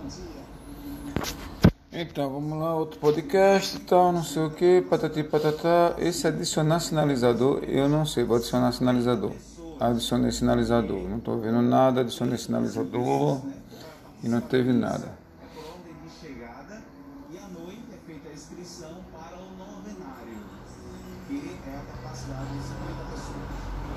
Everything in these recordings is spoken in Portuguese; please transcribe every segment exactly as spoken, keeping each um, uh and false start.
Então, vamos lá, outro podcast, tal, não sei o que, patati patatá. Esse adicionar sinalizador, eu não sei, vou adicionar sinalizador. Adicionei sinalizador, não estou vendo nada, adicionei sinalizador e não teve nada. Por ordem de chegada e à noite é feita a inscrição para o novenário, que é a capacidade de cinquenta pessoas.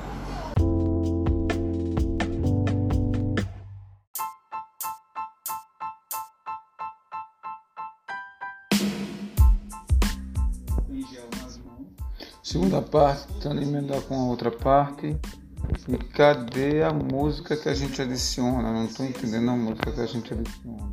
Tem gel nas mãos. Segunda parte, tentando emendar com a outra parte. E cadê a música que a gente adiciona? Não estou entendendo a música que a gente adiciona.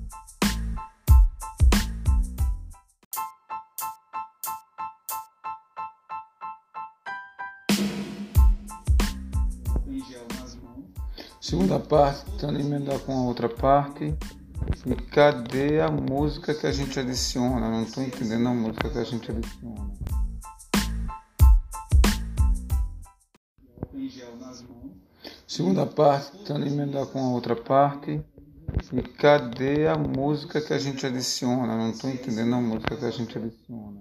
Tem gel nas mãos. Segunda parte, tentando emendar com a outra parte. E cadê a música que a gente adiciona? Não estou entendendo a música que a gente adiciona. Tem gel nas mãos. Segunda parte, tentando emendar com a outra parte. E cadê a música que a gente adiciona? Não estou entendendo a música que a gente adiciona.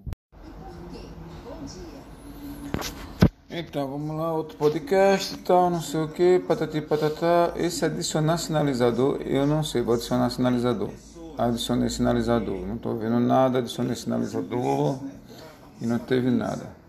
Então, vamos lá, outro podcast, tal, não sei o que, patati patatá. Esse adicionar sinalizador, eu não sei, vou adicionar sinalizador. Adicionei sinalizador, não estou vendo nada, adicionei sinalizador e não teve nada.